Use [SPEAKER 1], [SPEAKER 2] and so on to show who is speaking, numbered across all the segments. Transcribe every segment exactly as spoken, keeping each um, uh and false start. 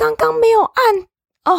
[SPEAKER 1] 剛剛沒有按哦。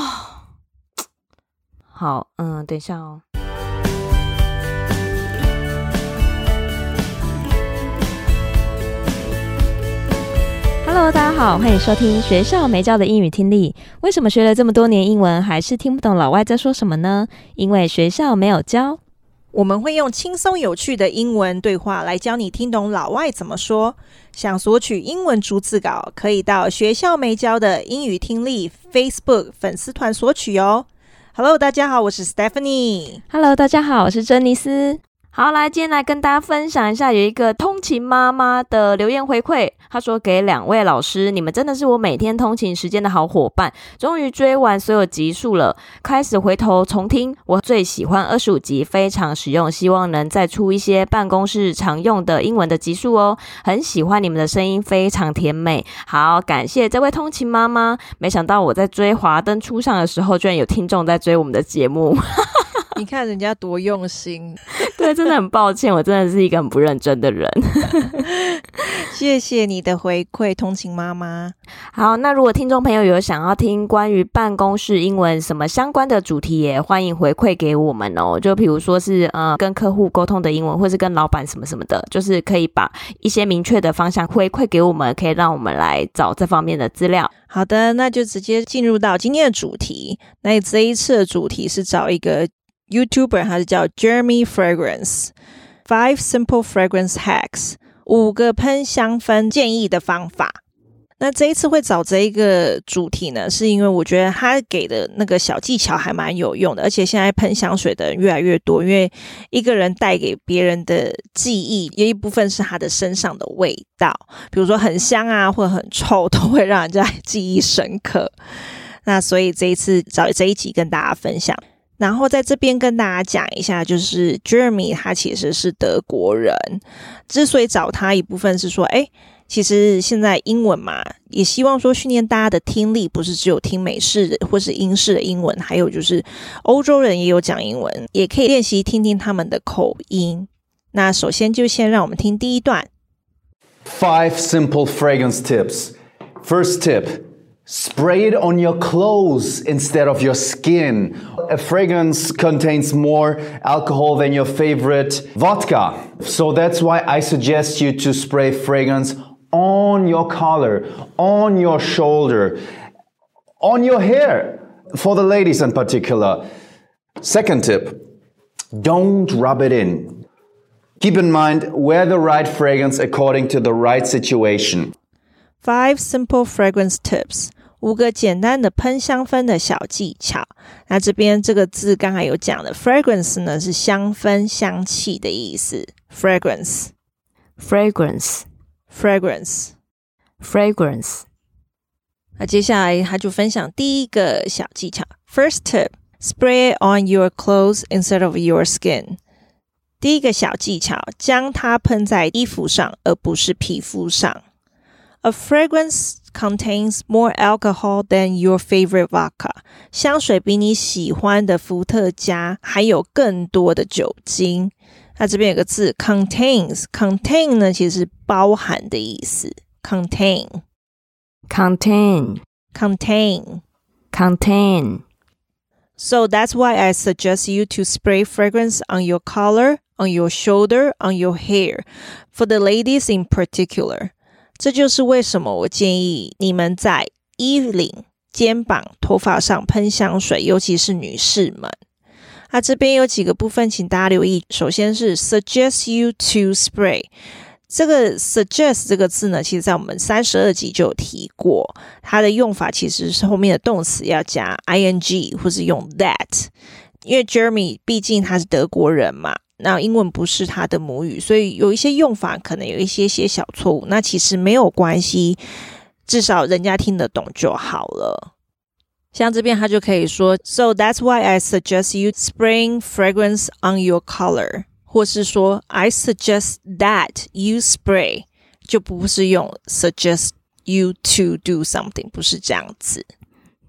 [SPEAKER 1] 好，嗯，等一下哦。Hello， 大家好，歡迎收聽學校沒教的英語聽力。為什麼學了這麼多年英文，還是聽不懂老外在說什麼呢？因為學校沒有教。
[SPEAKER 2] 我們會用輕鬆有趣的英文對話來教你聽懂老外怎麼說。想索取英文逐字稿，可以到學校沒教的英語聽力 Facebook 粉絲團索取哦。Hello， 大家好，我是 Stephanie。Hello，
[SPEAKER 1] 大家好，我是珍妮斯。好，來，今天來跟大家分享一下，有一個通勤媽媽的留言回饋。她說，給兩位老師，你們真的是我每天通勤時間的好夥伴。終於追完所有集數了，開始回頭重聽。我最喜歡二十五集，非常實用，希望能再出一些辦公室常用的英文的集數哦。很喜歡你們的聲音，非常甜美。好，感謝這位通勤媽媽。沒想到我在追華燈初上的時候，居然有聽眾在追我們的節目。
[SPEAKER 2] 你看人家多用心。
[SPEAKER 1] 對，真的很抱歉，我真的是一個很不認真的人。
[SPEAKER 2] 謝謝你的回饋，通勤媽媽。
[SPEAKER 1] 好，那如果聽眾朋友有想要聽關於辦公室英文什麼相關的主題，也歡迎回饋給我們哦。就比如說是呃跟客戶溝通的英文，或是跟老闆什麼什麼的，就是可以把一些明確的方向回饋給我們，可以讓我們來找這方面的資料。
[SPEAKER 2] 好的，那就直接進入到今天的主題。那這一次的主題是找一個YouTuber， 他是叫 Jeremy Fragrance Five Simple Fragrance Hacks 五個噴香氛建議的方法。那這一次會找這一個主題呢，是因為我覺得他給的那個小技巧還蠻有用的，而且現在噴香水的人越來越多，因為一個人帶給別人的記憶有一部分是他的身上的味道，比如說很香啊或者很臭，都會讓人家記憶深刻。那所以這一次找這一集跟大家分享。然後在這邊跟大家講一下，就是 Jeremy 他其實是德國人，之所以找他一部分是說，誒，其實現在英文嘛，也希望說訓練大家的聽力，不是只有聽美式或是英式的英文，還有就是歐洲人也有講英文，也可以練習聽聽他們的口音。那首先就先讓我們聽第一段。
[SPEAKER 3] Five simple fragrance tips. First tip.Spray it on your clothes instead of your skin. A fragrance contains more alcohol than your favorite vodka. So that's why I suggest you to spray fragrance on your collar, on your shoulder, on your hair, for the ladies in particular. Second tip, don't rub it in. Keep in mind, wear the right fragrance according to the right situation.Five
[SPEAKER 2] simple fragrance tips， 五個簡單的噴香氛的小技巧。那這邊這個字剛才有講的 fragrance 呢，是香氛香氣的意思。fragrance
[SPEAKER 1] fragrance
[SPEAKER 2] fragrance
[SPEAKER 1] fragrance
[SPEAKER 2] 那接下來他就分享第一個小技巧。First tip, spray it on your clothes instead of your skin。第一個小技巧，將它噴在衣服上，而不是皮膚上。A fragrance contains more alcohol than your favorite vodka. 香水比你喜歡的伏特加還有更多的酒精。那這邊有個字 contains， contain 呢其實是包含的意思。contain
[SPEAKER 1] contain
[SPEAKER 2] contain
[SPEAKER 1] contain
[SPEAKER 2] So that's why I suggest you to spray fragrance on your collar, on your shoulder, on your hair. For the ladies in particular.這就是為什麼我建議你們在衣領、肩膀、頭髮上噴香水，尤其是女士們。那這邊有幾個部分請大家留意。首先是 suggest you to spray。這個 suggest 這個字呢，其實在我們三十二集就有提過，它的用法其實是後面的動詞要加 ing 或是用 that。因為 Jeremy 畢竟他是德國人嘛，那英文不是他的母語，所以有一些用法可能有一些些小錯誤，那其實沒有關係，至少人家聽得懂就好了。像這邊他就可以說 So that's why I suggest you spraying fragrance on your collar， 或是說 I suggest that you spray， 就不是用 suggest you to do something， 不是這樣子。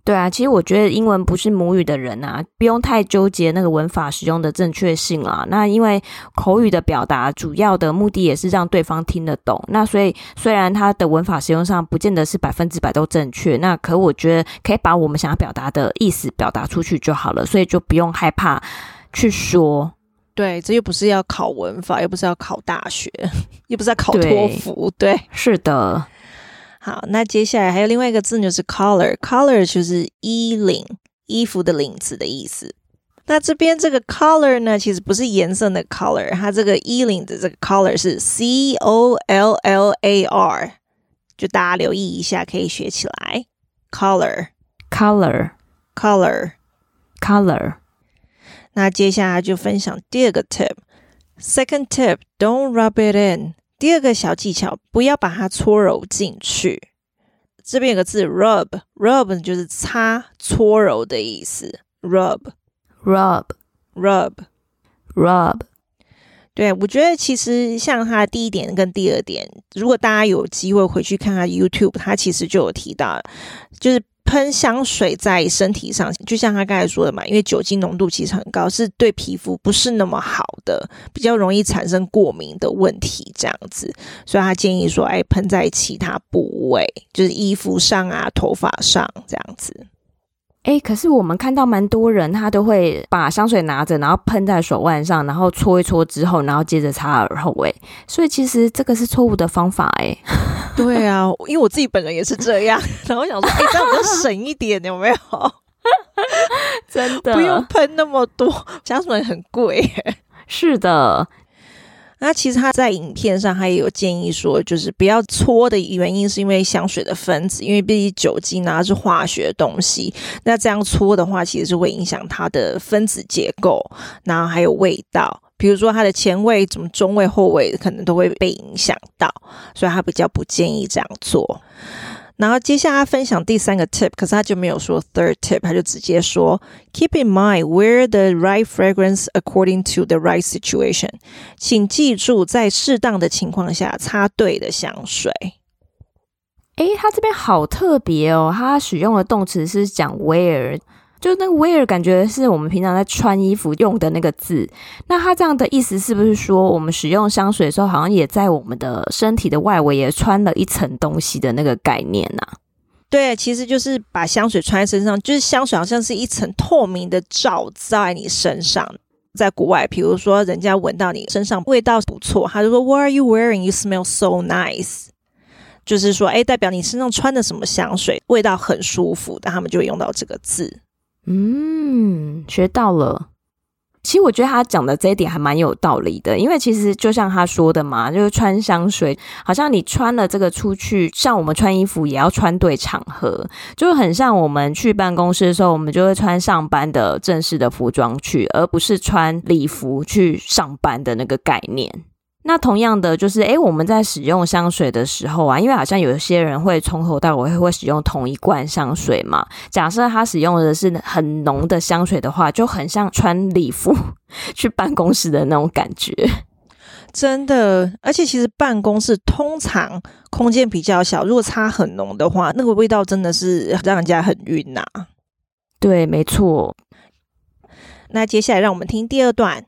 [SPEAKER 1] 對啊，其實我覺得英文不是母語的人啊，不用太糾結那個文法使用的正確性啦。那因為口語的表達主要的目的也是讓對方聽得懂，那所以雖然它的文法使用上不見得是百分之百都正確，那可我覺得可以把我們想要表達的意思表達出去就好了，所以就不用害怕去說。
[SPEAKER 2] 對，這又不是要考文法，又不是要考大學，又不是要考托福，對，
[SPEAKER 1] 對，是的。
[SPEAKER 2] 好，那接下來還有另外一個字就是 collar，collar 就是衣領，衣服的領子的意思。那這邊這個 collar 呢，其實不是顏色的 color， 它這個衣領的這個 collar 是 C O L L A R， 就大家留意一下，可以學起來。collar，collar，collar，collar。那接下來就分享第二個 tip。Second tip, don't rub it in。第二個小技巧，不要把它搓揉進去。這邊有個字 rub， rub 就是擦、搓揉的意思。rub，rub，rub，rub。對，我覺得其實像它第一點跟第二點，如果大家有機會回去看它 YouTube， 它其實就有提到，就是噴香水在身體上，就像他剛才說的嘛，因為酒精濃度其實很高，是對皮膚不是那麼好的，比較容易產生過敏的問題這樣子，所以他建議說，哎，噴在其他部位，就是衣服上啊、頭髮上這樣子。
[SPEAKER 1] 哎，可是我們看到蠻多人，他都會把香水拿着，然後噴在手腕上，然後搓一搓之後，然後接着擦耳後，哎，所以其實這個是錯誤的方法，哎。
[SPEAKER 2] 對啊，因為我自己本人也是這樣，然後我想說，哎，這樣比較省一點，有沒有？
[SPEAKER 1] 真的，
[SPEAKER 2] 不用噴那麼多，香水很貴耶。
[SPEAKER 1] 是的。
[SPEAKER 2] 那其實他在影片上他也有建議說，就是不要搓的原因是因為香水的分子，因為畢竟酒精啊是化學的東西，那這樣搓的話其實是會影響它的分子結構，然後還有味道，比如說它的前味、什麼中味、後味可能都會被影響到，所以他比較不建議這樣做。然後接下來他分享第三個 tip， 可是他就沒有說 third tip， 他就直接說 Keep in mind, wear the right fragrance according to the right situation。 請記住在適當的情況下擦對的香水。
[SPEAKER 1] 誒，他這邊好特別哦，他使用的動詞是講 wear，就那個 wear 感覺是我們平常在穿衣服用的那個字，那它這樣的意思是不是說我們使用香水的時候好像也在我們的身體的外圍也穿了一層東西的那個概念啊？
[SPEAKER 2] 對，其實就是把香水穿在身上，就是香水好像是一層透明的罩在你身上。在國外，比如說人家聞到你身上味道不錯，他就說 What are you wearing? You smell so nice。就是說，哎，代表你身上穿的什麼香水味道很舒服，但他們就會用到這個字。
[SPEAKER 1] 嗯，學到了。其實我覺得他講的這一點還蠻有道理的，因為其實就像他說的嘛，就是穿香水，好像你穿了這個出去，像我們穿衣服也要穿對場合，就很像我們去辦公室的時候，我們就會穿上班的正式的服裝去，而不是穿禮服去上班的那個概念。那同樣的就是誒我們在使用香水的時候啊，因為好像有些人會從頭到尾會使用同一罐香水嘛，假設他使用的是很濃的香水的話，就很像穿禮服去辦公室的那種感覺。
[SPEAKER 2] 真的，而且其實辦公室通常空間比較小，如果擦很濃的話，那個味道真的是讓人家很暈啊。
[SPEAKER 1] 對，沒錯。
[SPEAKER 2] 那接下來讓我們聽第二段。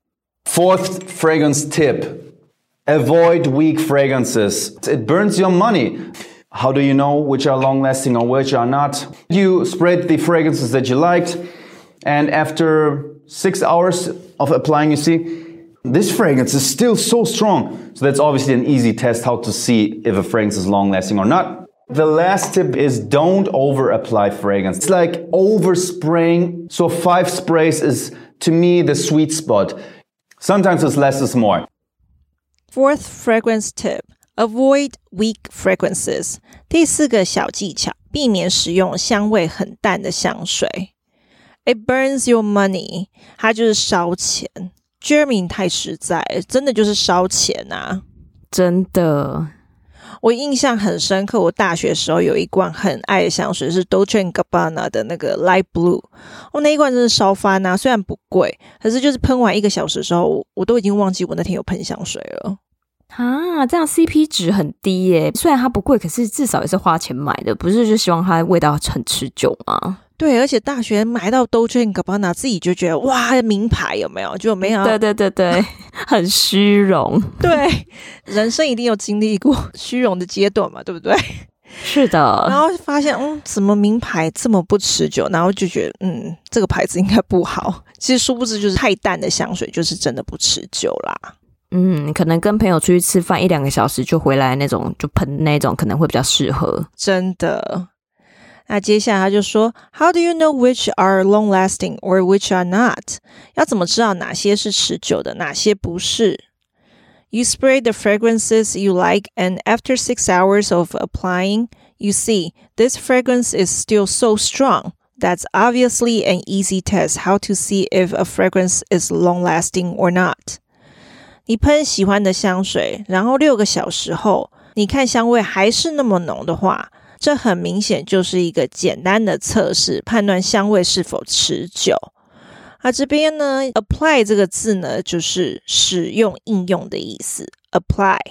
[SPEAKER 3] Fourth fragrance tip, avoid weak fragrances. It burns your money. How do you know which are long-lasting or which are not? You spread the fragrances that you liked, and after six hours of applying, you see, this fragrance is still so strong. So that's obviously an easy test how to see if a fragrance is long-lasting or not. The last tip is don't over-apply fragrance. It's like overspraying. So five sprays is, to me, the sweet spot. Sometimes it's less is more.
[SPEAKER 2] Fourth fragrance tip, avoid weak fragrances. 第四個小技巧，避免使用香味很淡的香水。It burns your money. 它就是燒錢。Jeremy 太實在，真的就是燒錢啊！
[SPEAKER 1] 真的。
[SPEAKER 2] 我印象很深刻，我大學時候有一罐很愛的香水是 Dolce and Gabbana 的那個 Light Blue， 我那一罐真是燒翻啊，雖然不貴，可是就是噴完一個小時的時候，我都已經忘記我那天有噴香水了。
[SPEAKER 1] 啊，這樣 C P 值很低耶。雖然它不貴，可是至少也是花錢買的，不是就希望它味道很持久嗎？
[SPEAKER 2] 對，而且大學買到 Dolce and Gabbana 自己就覺得哇，名牌有沒有？就沒有。
[SPEAKER 1] 對對對對，很虛榮。
[SPEAKER 2] 對，人生一定有經歷過虛榮的階段嘛，對不對？
[SPEAKER 1] 是的。然
[SPEAKER 2] 後發現，嗯，怎麼名牌這麼不持久？然後就覺得，嗯，這個牌子應該不好。其實殊不知，就是太淡的香水，就是真的不持久啦。
[SPEAKER 1] 嗯，可能跟朋友出去吃飯一兩個小時就回來那種，就噴那種可能會比較適合。
[SPEAKER 2] 真的。那接下來他就說 How do you know which are long-lasting or which are not? 要怎麼知道哪些是持久的，哪些不是？ You spray the fragrances you like and after six hours of applying, you see this fragrance is still so strong. That's obviously an easy test how to see if a fragrance is long-lasting or not. 你噴喜歡的香水，然後六個小時後，你看香味還是那麼濃的話，這很明顯就是一個簡單的測試，判斷香味是否持久。啊，這邊呢 apply 這個字呢，就是使用應用的意思。apply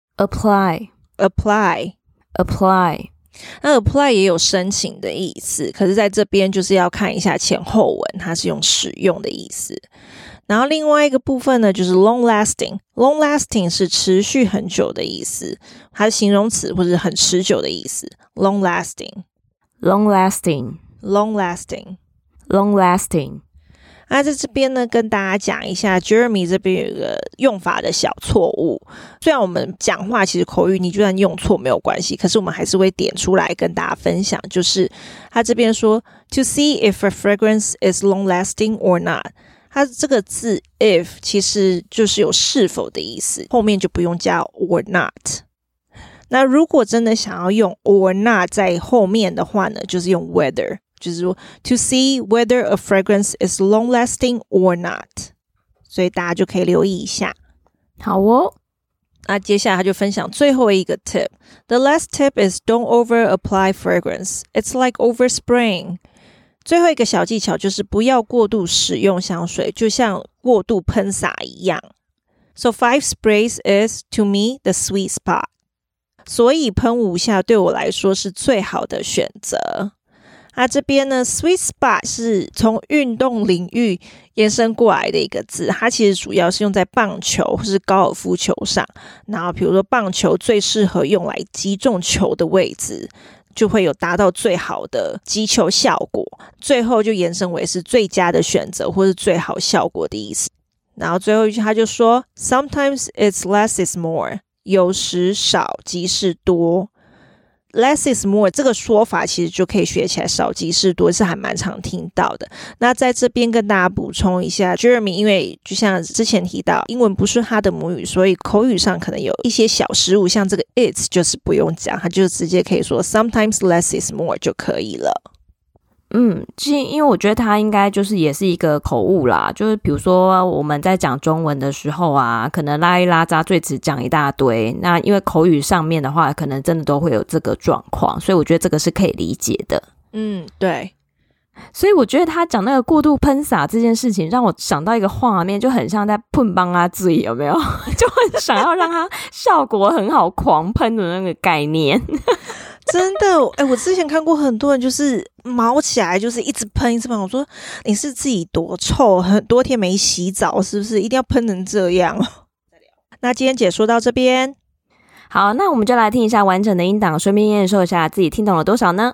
[SPEAKER 1] apply
[SPEAKER 2] apply
[SPEAKER 1] apply
[SPEAKER 2] 那 apply 也有申請的意思，可是在這邊就是要看一下前後文，它是用使用的意思。然後另外一個部分呢，就是 long lasting long lasting 是持續很久的意思，它是形容詞或者很持久的意思。long lasting
[SPEAKER 1] long lasting
[SPEAKER 2] long lasting
[SPEAKER 1] long lasting
[SPEAKER 2] 那在這邊呢，跟大家講一下 Jeremy 這邊有一個用法的小錯誤。雖然我們講話其實口語你就算用錯沒有關係，可是我們還是會點出來跟大家分享，就是他這邊說 To see if a fragrance is long lasting or not， 它這個字 if 其實就是有是否的意思，後面就不用加 or not。那如果真的想要用 or not 在後面的話呢，就是用 whether，就是說 to see whether a fragrance is long-lasting or not， 所以大家就可以留意一下。
[SPEAKER 1] 好哦，
[SPEAKER 2] 那接下來他就分享最後一個 tip。The last tip is don't over-apply fragrance. It's like overspraying. 最後一個小技巧就是不要過度使用香水，就像過度噴灑一樣。So five sprays is, to me, the sweet spot. 所以噴五下對我來說是最好的選擇。它這邊呢 sweet spot 是從運動領域延伸過來的一個字，它其實主要是用在棒球或是高爾夫球上，然後比如說棒球最適合用來擊中球的位置，就會有達到最好的擊球效果，最後就延伸為是最佳的選擇或是最好效果的意思。然後最後一句他就說 Sometimes it's less is more， 有時少即是多。Less is more 這個說法其實就可以學起來，少即是多是還蠻常聽到的。那在這邊跟大家補充一下 Jeremy 因為就像之前提到英文不是他的母語，所以口語上可能有一些小失誤，像這個 it's 就是不用講，他就直接可以說 sometimes less is more 就可以了。
[SPEAKER 1] 嗯，因為我覺得它應該就是也是一個口誤啦，就是比如說我們在講中文的時候啊，可能拉一拉雜贅詞講一大堆，那因為口語上面的話，可能真的都會有這個狀況，所以我覺得這個是可以理解的。
[SPEAKER 2] 嗯，對。
[SPEAKER 1] 所以我覺得他講那個過度噴灑這件事情，讓我想到一個畫面，就很像在噴幫啊醉，有沒有？就很想要讓它效果很好，狂噴的那個概念。
[SPEAKER 2] 真的，哎、欸，我之前看過很多人就是毛起來，就是一直噴一直噴。我說你是自己多臭，很多天沒洗澡，是不是一定要噴成這樣？那今天解說到這邊，
[SPEAKER 1] 好，那我們就來聽一下完整的音檔，順便驗收一下自己聽懂了多少呢？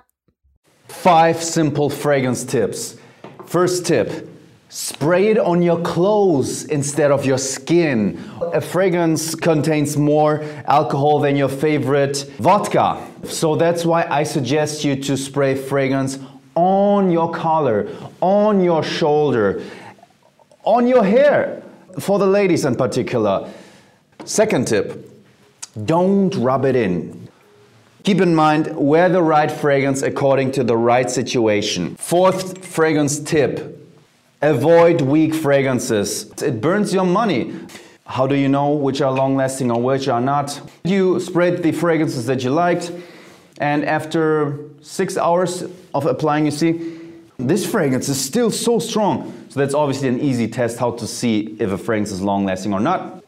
[SPEAKER 3] Five simple fragrance tips. First tip. Spray it on your clothes instead of your skin. A fragrance contains more alcohol than your favorite vodka. So that's why I suggest you to spray fragrance on your collar, on your shoulder, on your hair, for the ladies in particular. Second tip, don't rub it in. Keep in mind, wear the right fragrance according to the right situation. Fourth fragrance tip, avoid weak fragrances. It burns your money. How do you know which are long-lasting or which are not? You sprayed the fragrances that you liked, and after six hours of applying, you see, this fragrance is still so strong. So that's obviously an easy test how to see if a fragrance is long-lasting or not.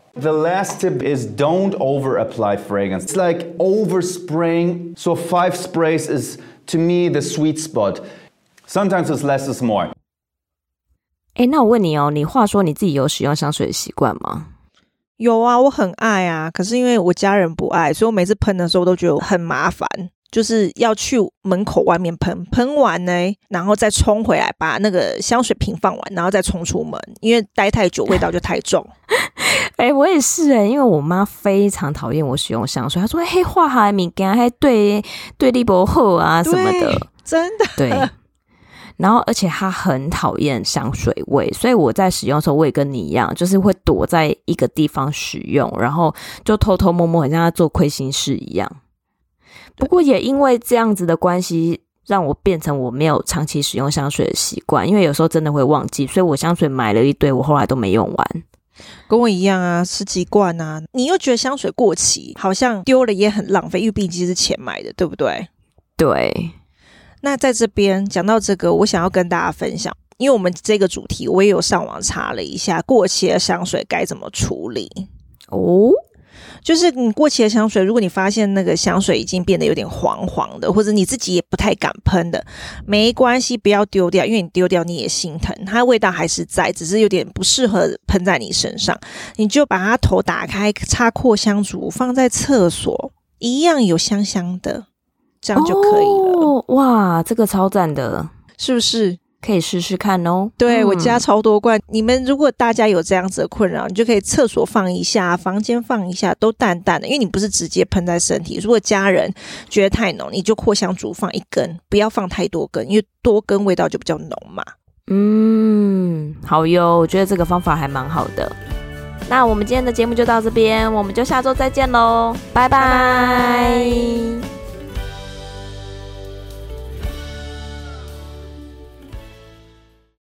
[SPEAKER 3] The last tip is don't over apply fragrance. It's like overspraying. So five sprays is to me the sweet spot. Sometimes it's less is more.
[SPEAKER 1] 欸，那我問你哦，你話說你自己有使用香水的習慣嗎？
[SPEAKER 2] 有啊，我很愛啊，可是因為我家人不愛，所以我每次噴的時候我都覺得很麻煩，就是要去門口外面噴，噴完呢，然後再衝回來，把那個香水瓶放完，然後再衝出門，因為待太久味道就太重。
[SPEAKER 1] 哎、欸，我也是哎、欸，因為我媽非常討厭我使用香水，她說：“嘿，化學物件還對對你不好啊什麼的。”
[SPEAKER 2] 真的。
[SPEAKER 1] 對。然後，而且她很討厭香水味，所以我在使用的時候，我也跟你一樣，就是會躲在一個地方使用，然後就偷偷摸摸，很像在做虧心事一樣。不過也因為這樣子的關係，讓我變成我沒有長期使用香水的習慣，因為有時候真的會忘記，所以我香水買了一堆，我後來都沒用完。
[SPEAKER 2] 跟我一樣啊，十幾罐啊，你又覺得香水過期，好像丟了也很浪費，因為畢竟是錢買的，對不對？
[SPEAKER 1] 對。
[SPEAKER 2] 那在這邊講到這個，我想要跟大家分享，因為我們這個主題，我也有上網查了一下，過期的香水該怎麼處理
[SPEAKER 1] 哦。
[SPEAKER 2] 就是你過期的香水，如果你發現那個香水已經變得有點黃黃的，或者你自己也不太敢噴的，沒關係，不要丟掉，因為你丟掉你也心疼，它的味道還是在，只是有點不適合噴在你身上。你就把它頭打開，插擴香燭，放在廁所，一樣有香香的，這樣就可以了。
[SPEAKER 1] 哦，哇，這個超讚的，
[SPEAKER 2] 是不是？
[SPEAKER 1] 可以試試看哦。
[SPEAKER 2] 對、嗯、我家超多罐，你們如果大家有這樣子的困擾，你就可以廁所放一下，房間放一下，都淡淡的，因為你不是直接噴在身體。如果家人覺得太濃，你就擴香燭放一根，不要放太多根，因為多根味道就比較濃嘛。
[SPEAKER 1] 嗯，好喲，我覺得這個方法還蠻好的。那我們今天的節目就到這邊，我們就下周再見嘍，拜拜。拜拜。